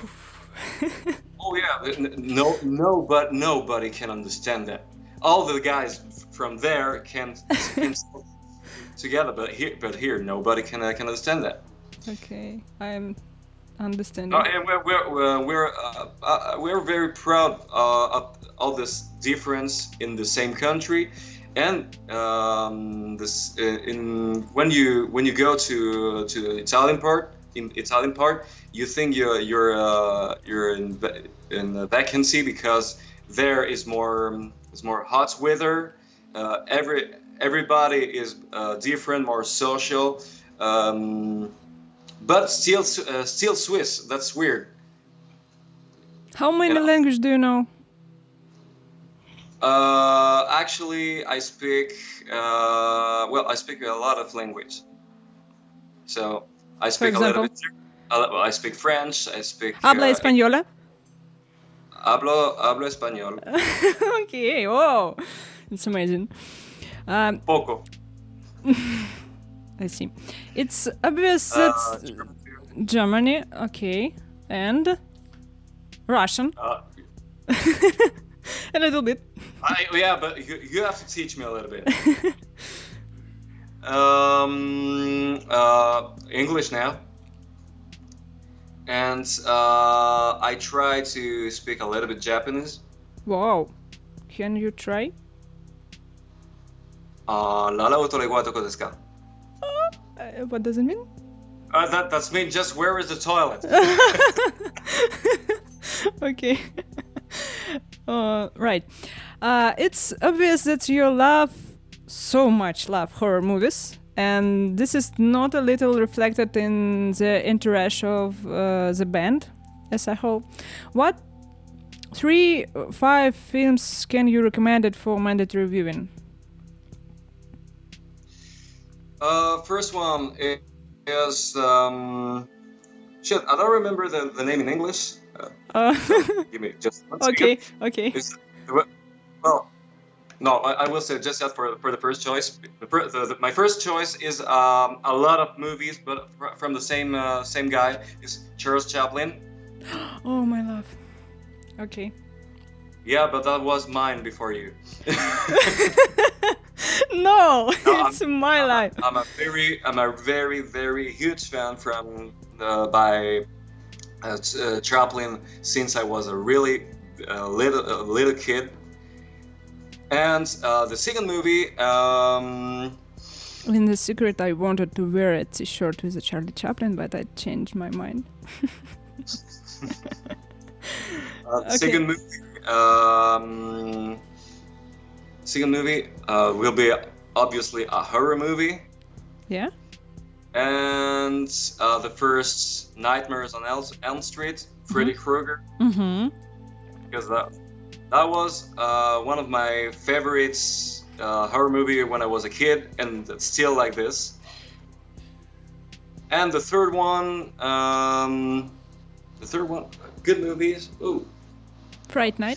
Oh yeah, n- no, no, but nobody can understand that. All the guys from there can, can talk together, but here, but here, nobody can uh, can understand that. Okay, I'm understanding. No, and we're we're we're we're, uh, uh, we're very proud uh, of all this difference in the same country. And um, this in when you when you go to to the Italian part in Italian part, you think you're you're uh, you're in in a vacancy because there is more is more hot weather. Uh, every everybody is uh, different, more social, um, but still uh, still Swiss. That's weird. How many Yeah. languages do you know? Uh, actually, I speak. Uh, well, I speak a lot of language. So I speak a little example? bit. Ger- I, I speak French. I speak. Habla uh, española? Hablo, hablo español. Okay, wow, it's amazing. Um, Poco. I see. It's obvious Uh, that Germany, okay, and Russian, uh, a little bit. I, yeah, but you, you have to teach me a little bit. um, uh, English now. And uh, I try to speak a little bit Japanese. Wow, can you try? Uh, Nara o tore wa doko desu ka? Uh, what does it mean? Uh, that that's me. Just where is the toilet? Okay. uh, right. Uh, it's obvious that you love so much love horror movies, and this is not a little reflected in the entourage of uh, the band as a whole. What three, five films can you recommend it for mandatory viewing? Uh, first one is um, shit. I don't remember the, the name in English. Uh, Uh, so give me just one okay, second. okay. It's, well, no, I, I will say just that for for the first choice. The, per- the, the, my first choice is um, a lot of movies, but fr- from the same uh, same guy is Charles Chaplin. Oh my love. Okay. Yeah, but that was mine before you. No, No, it's my I'm, life. I'm a very, I'm a very, very huge fan from uh, by uh, Ch- uh, Chaplin since I was a really uh, little uh, little kid. And uh, the second movie, um, In the secret, I wanted to wear a t-shirt with a Charlie Chaplin, but I changed my mind. uh, the Okay. second movie, um, second movie uh, will be obviously a horror movie. Yeah? And uh, the first Nightmares on El- Elm Street, Freddy Krueger, Mm-hmm. because that that was uh, one of my favorites uh, horror movie when I was a kid, and it's still like this. And the third one, um, the third one, good movies. Ooh, Fright Night.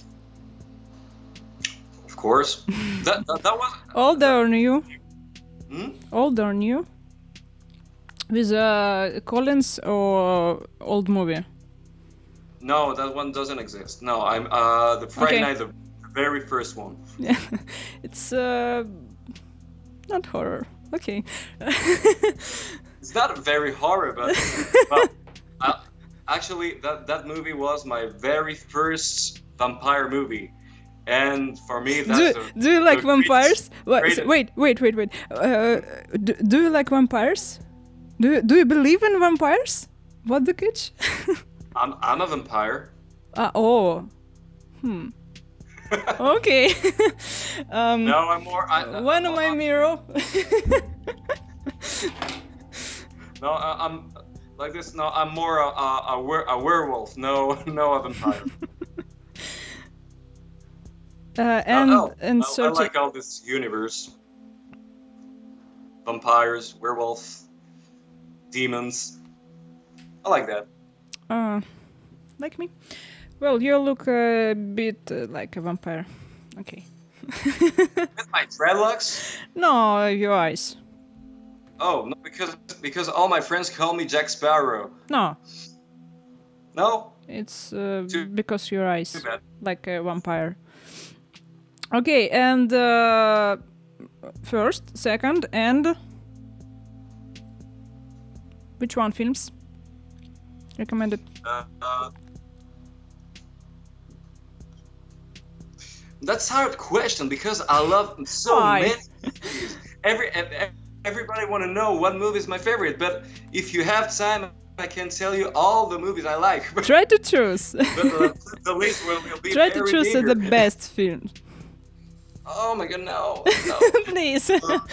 of course. that, that that was. Old or new? Hmm? Old or new? With uh, Collins or old movie? No, that one doesn't exist. No, I'm uh, the Friday Okay. Night, the very first one. Yeah. It's uh, not horror. Okay. It's not very horror, but well, uh, actually, that that movie was my very first vampire movie, and for me, that's do, the, do you like the vampires? What, greatest- wait, wait, wait, wait. Uh, do, do you like vampires? Do you, do you believe in vampires? What the catch? I'm I'm a vampire. uh, oh. Hmm. Okay. um, No, I'm more. I, I- One of my I'm- mirror. No, I, I'm like this. No, I'm more a a, a, were, a werewolf. No, no, a vampire. uh, and oh, and I, I so like all this universe. Vampires, werewolf, demons. I like that. uh, like me. Well, you look a bit uh, like a vampire. Okay. With my dreadlocks. No, your eyes. Oh, no, because because all my friends call me Jack Sparrow. No, No, it's uh, Too- because your eyes too bad. like a vampire. Okay, and uh, first, second, and which one films recommended? Uh, uh, that's a hard question because I love so Why? many movies. Every ev- ev- everybody want to know what movie is my favorite, but if you have time, I can tell you all the movies I like. But Try to choose. the, the list will, will be Try to very choose uh, meager. the best film, Oh my god, no, no. please.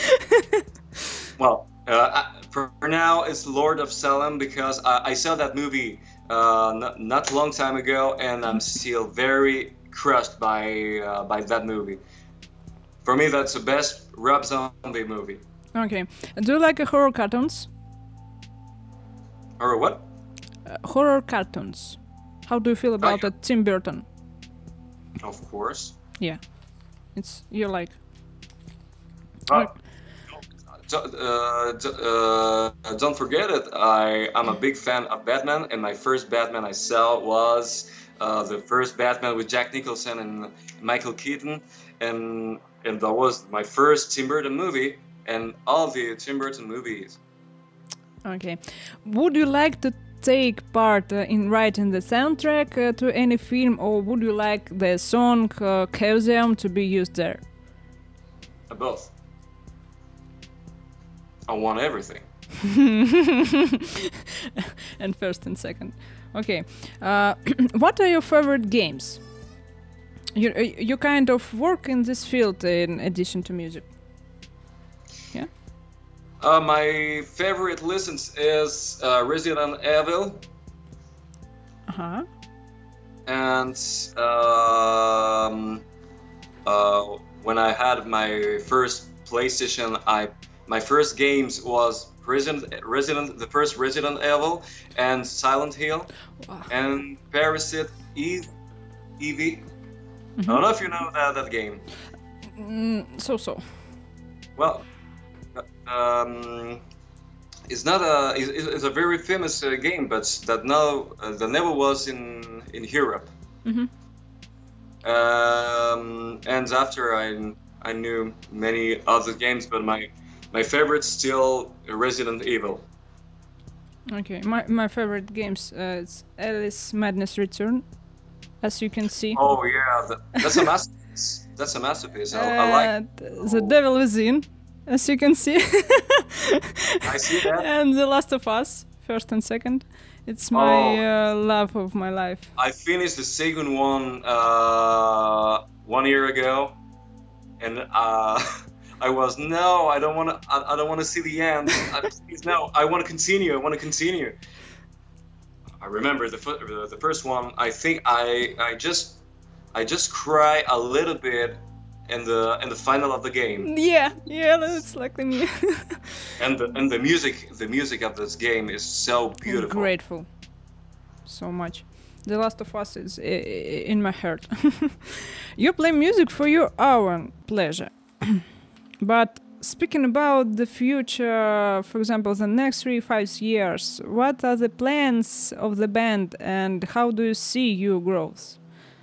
Well, uh, I- for for now, it's Lord of Salem because I, I saw that movie uh, not, not long time ago, and I'm still very crushed by uh, by that movie. For me, that's the best Rob Zombie movie. Okay. Do you like uh, horror cartoons? Or what? Uh, horror cartoons. How do you feel about yeah. uh, Tim Burton? Of course. Yeah, it's you like. Uh, don't, uh, d- uh, don't forget it. I I'm a big fan of Batman, and my first Batman I saw was uh, the first Batman with Jack Nicholson and Michael Keaton, and and that was my first Tim Burton movie, and all the Tim Burton movies. Okay. Would you like to take part uh, in writing the soundtrack uh, to any film, or would you like the song uh, Chaosium to be used there? Uh, both. I want everything. And first and second. Okay. Uh, what are your favorite games? You you kind of work in this field in addition to music. Yeah. Uh, my favorite listens is uh, Resident Evil. Uh huh. And um, uh, when I had my first PlayStation, I my first games was Resident, Resident the first Resident Evil and Silent Hill Wow. and Parasite Eve, Evie. Mm-hmm. I don't know if you know that that game. Mm, so so. Well, um, it's not a it's, it's a very famous uh, game, but that now uh, that never was in in Europe. Mm-hmm. Um, and after I I knew many other games, but my my favorite still Resident Evil. Okay, my my favorite games uh, it's Alice Madness Return, as you can see. Oh yeah, that, that's a masterpiece. That's a masterpiece. I, I like. Uh, The Devil Within, as you can see. I see that. And The Last of Us, first and second. It's my Oh. uh, love of my life. I finished the second one uh, one year ago, and uh, I was no, I don't want to. I, I don't want to see the end. I, please no, I want to continue. I want to continue. I remember the fir- the the first one. I think I I just I just cry a little bit in the in the final of the game. Yeah, yeah, that's like me. And the and the music the music of this game is so beautiful. I'm grateful so much. The Last of Us is i- i- in my heart. You play music for your own pleasure. But speaking about the future, for example, the next three, five years, what are the plans of the band and how do you see your growth?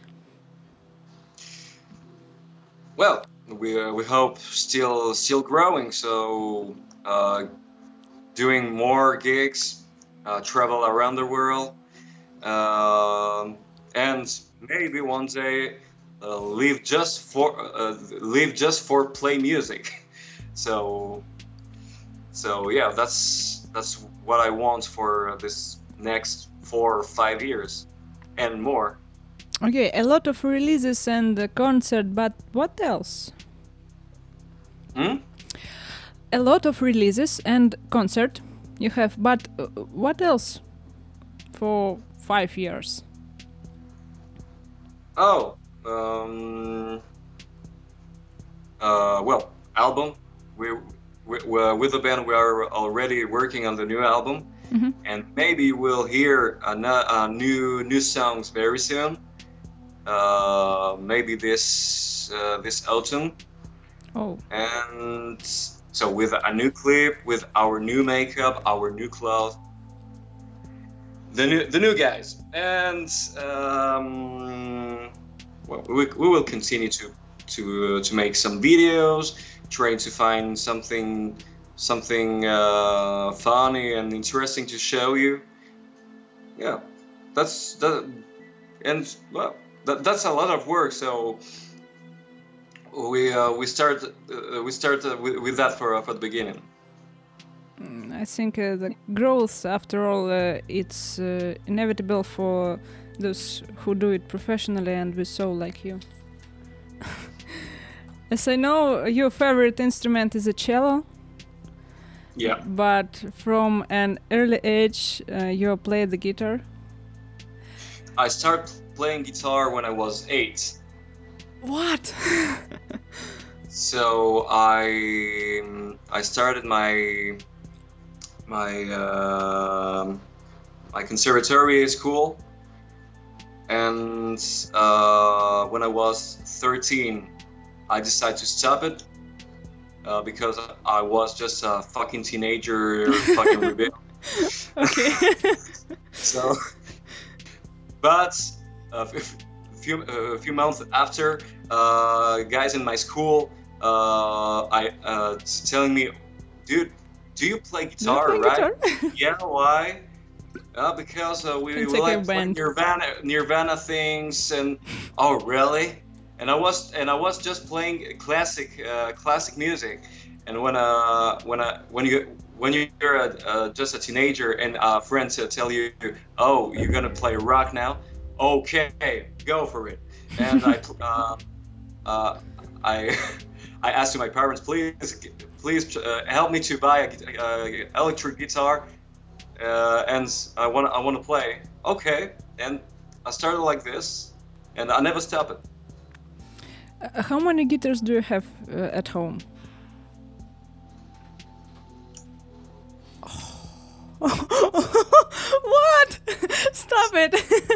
Well, we uh, we hope still still growing. So uh, doing more gigs, uh, travel around the world, um and maybe one day uh, live just for uh, live just for play music. So so yeah, that's that's what I want for this next four or five years and more. Okay, a lot of releases and uh, concert, but what else? Hmm? A lot of releases and concert you have, but uh, what else for five years? Oh, um, uh, well, album. We, we, we with the band we are already working on the new album, Mhm. and maybe we'll hear a, no- a new new songs very soon. Uh, maybe this uh, this autumn, Oh, and so with a new clip, with our new makeup, our new clothes, the new the new guys, and um, well, we, we will continue to to uh, to make some videos, trying to find something something uh, funny and interesting to show you. Yeah, that's that, and well, that, that's a lot of work. So we uh, we start uh, we start uh, with, with that for uh, for the beginning. mm, I think uh, the growth, after all, uh, it's uh, inevitable for those who do it professionally, and we so like you. As I know, your favorite instrument is a cello, Yeah. but from an early age, uh, you play the guitar. I started playing guitar when I was eight. What? So I I started my my um my conservatory school. And uh, when I was thirteen, I decided to stop it uh, because I was just a fucking teenager, fucking rebel. Okay. So, but a few a few months after, uh, guys in my school, uh, I uh, telling me, dude, do you play guitar? Do you play right? guitar? Yeah. Why? Uh, because uh, we, we It's like a like playing band. Nirvana, Nirvana things, and oh really? And I was and I was just playing classic uh, classic music, and when uh when I when you when you're a, uh, just a teenager and uh, friends uh, tell you, oh, you're gonna play rock now, okay, go for it. And I uh, uh, I I asked my parents, please please uh, help me to buy a, a electric guitar. Uh, and I want I want to play. Okay, and I started like this, and I never stopped it. Uh, how many guitars do you have uh, at home? What? Stop it!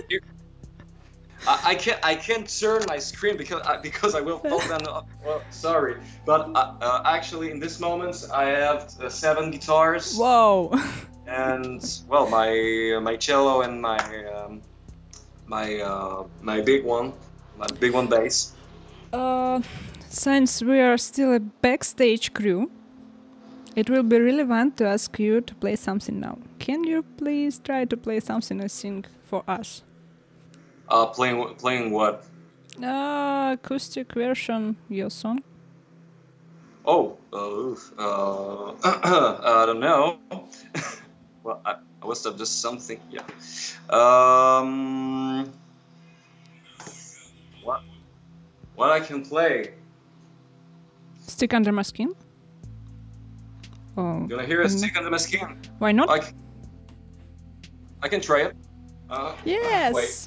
I, I can't I can't turn my screen because I, because I will fall down. Well, sorry, but uh, uh, actually in this moment I have uh, seven guitars. Wow. And well, my my cello and my um, my uh, my big one, my big one bass. Uh, since we are still a backstage crew, it will be relevant to ask you to play something now. Can you please try to play something and sing for us? Uh, playing playing what? Uh, acoustic version, your song. Oh, uh, uh, I don't know. Well, I, I must have just something. Yeah. Um. What? What I can play? Stick under my skin. Oh. You wanna hear a stick under my skin? Why not? I, c- I can try it. Uh, Yes. Wait.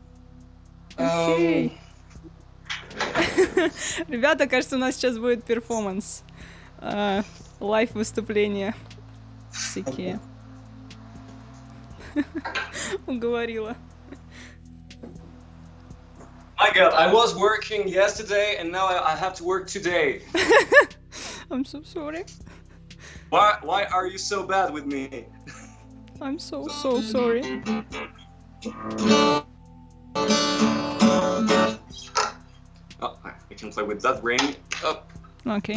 Окей. Ребята, кажется, у нас сейчас будет перформанс. А, лайв-выступления. Всякие. Уговорила. My God, I was working yesterday and now I, I have to work today. I'm so sorry. Why? Why are you so bad with me? I'm so, so sorry. Oh, I can play with that ring. Oh. Okay.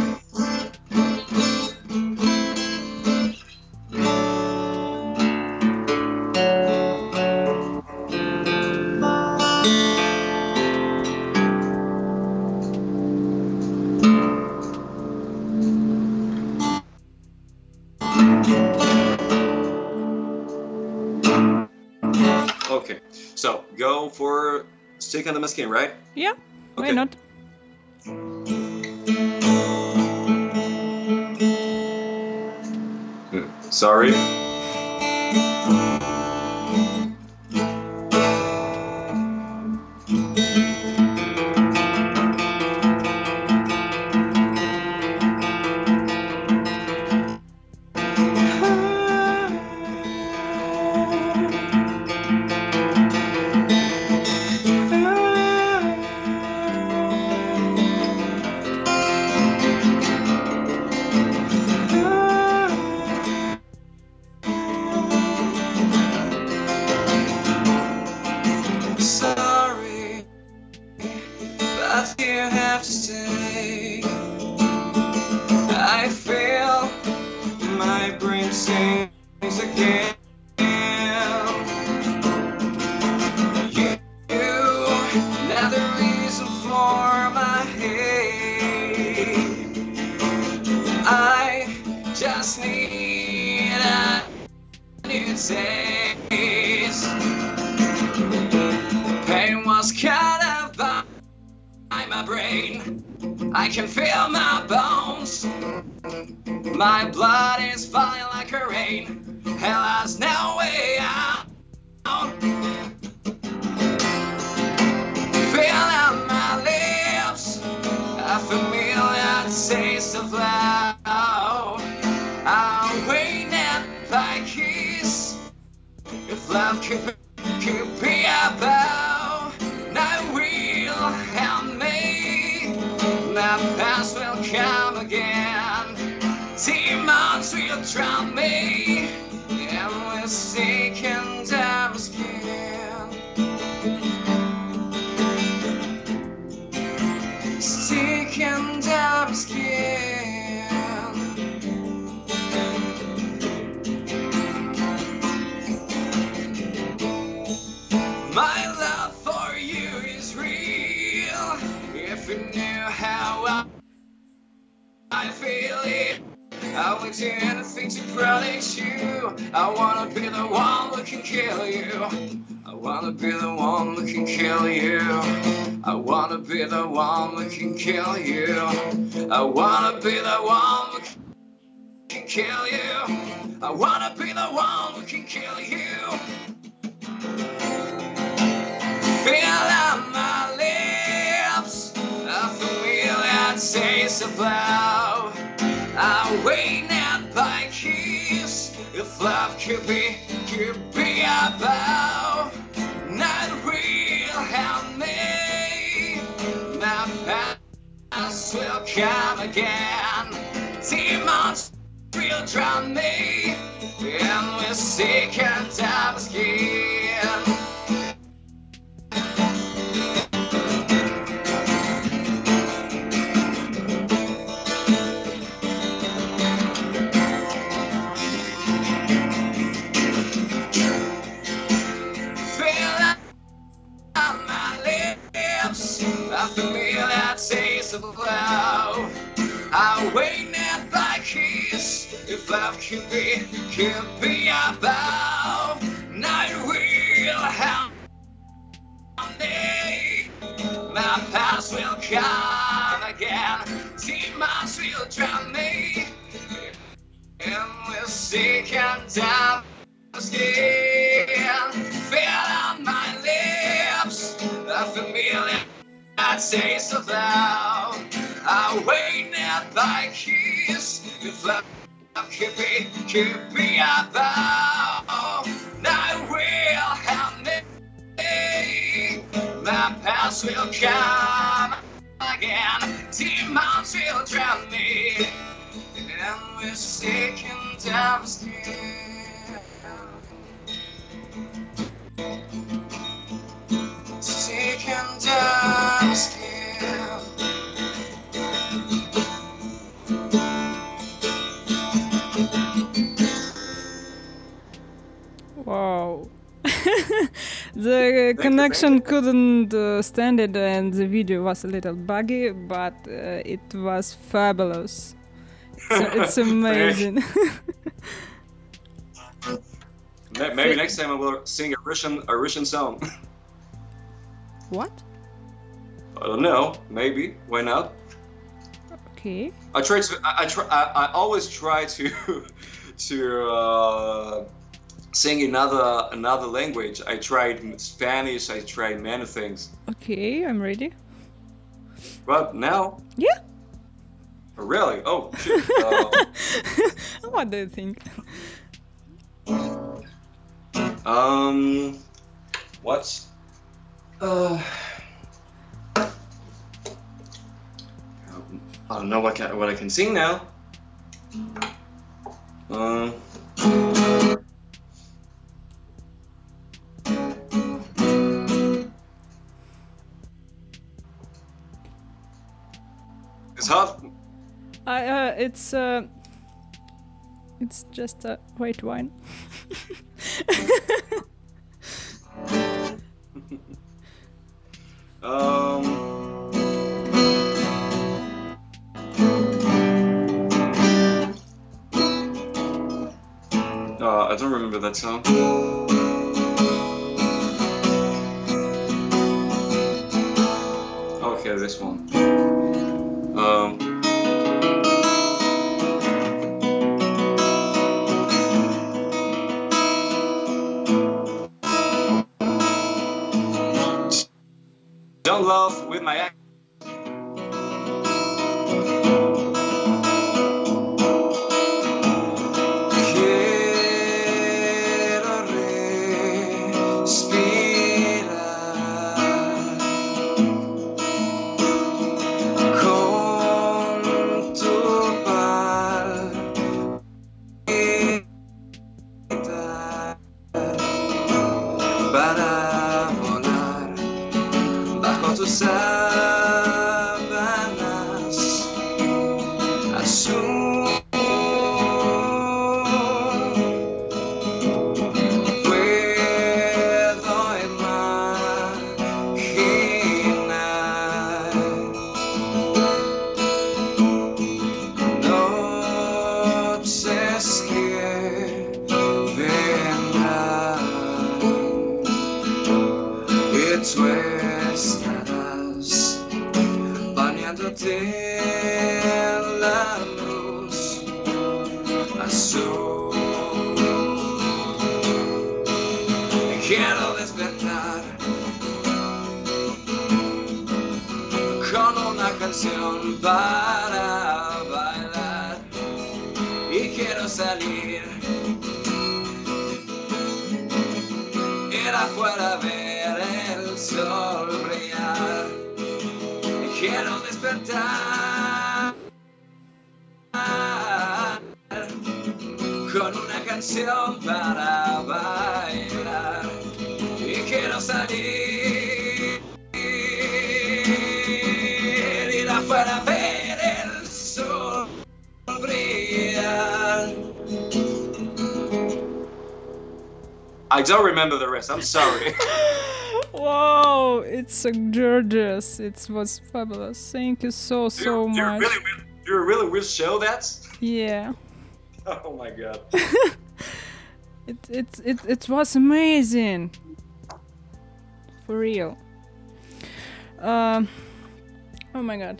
Okay, so go for stick under my skin, right? Yeah, why Okay. not? Hmm, Sorry. Sorry, but you have to stay. I feel my brain sings again. You, you, another reason for my hate. I just need a new taste. Pain was cut up by my brain. I can feel my bones. My blood is falling like a rain. Hell has no way out. Feel on my lips a familiar taste of love. I'll wait and by kiss. love could, could be about. Night will help me. My past will come again. Demons will drown me. And we're sick and I'm scared. Sick and I'm scared. My love for you is real. If you knew how I, I feel it, I would do anything to protect you. I wanna be the one who can kill you. I wanna be the one who can kill you. I wanna be the one who can kill you. I wanna be the one who can kill you. I wanna be the one who can kill you. Feel on my lips a familiar taste of love. I wait not by kiss. If love could be, could be about. Not real, help me. My past will come again. Demons will drown me. And we're sick and I'm scared. I feel that taste of love. I wait not by kiss. If love could be, could be about. Night will help me. My past will come again. Demons will drown me. And we're sick and I'm scared. Feel on my lips a familiar taste of love. I wait not by kiss. If love could be, could be about. Night will help me. My past will come again. Demons will drown me. And we're sick and I'm scared. Sick and I'm scared. Wow. The connection couldn't uh, stand it and the video was a little buggy, but uh, it was fabulous. So it's amazing. Maybe next time I will sing a Russian, a Russian song. What? I don't know. Maybe. Why not? Okay. I try to. I, I try. I, I always try to to uh, sing another another language. I tried Spanish. I tried many things. Okay, I'm ready. But now. Yeah. Oh, really? Oh, shit. Uh, What do you think? Um. What's Uh, I don't know what can, what I can sing now. Um. It's hot. I uh, it's uh, it's just a white wine. um. Uh, I don't remember that song. Okay, this one. Um. Don't love with my ex. Quiero tus sábanas azul. Puedo imaginar noches que vendrán y tú estarás bañándote en la luz azul. Quiero despertar con una canción para bailar y quiero salir, ir afuera a ver el sol brillar. Quiero despertar con una canción para bailar y quiero salir, ir afuera a ver el sol brillar. I don't remember the rest, I'm sorry. Wow, it's so gorgeous. It was fabulous. Thank you so, so you, much. You really, will, you really will show that? Yeah. Oh my god. it, it, it, it was amazing. For real. Um, oh my god.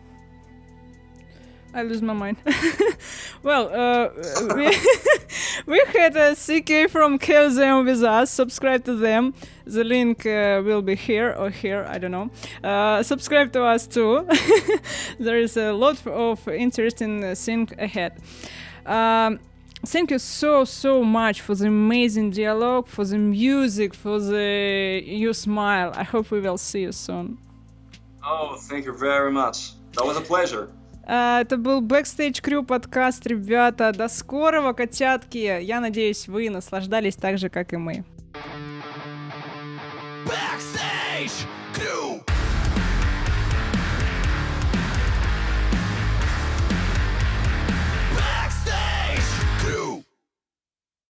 I lose my mind. Well, uh, we, we had a C K from Chaosium with us. Subscribe to them. The link uh, will be here or here, I don't know. Uh, subscribe to us too. There is a lot of interesting uh, things ahead. Um, thank you so, so much for the amazing dialogue, for the music, for the your smile. I hope we will see you soon. Oh, thank you very much. That was a pleasure. Uh, это был Backstage Crew подкаст, ребята. До скорого, котятки. Я надеюсь, вы наслаждались так же, как и мы. Backstage Crew.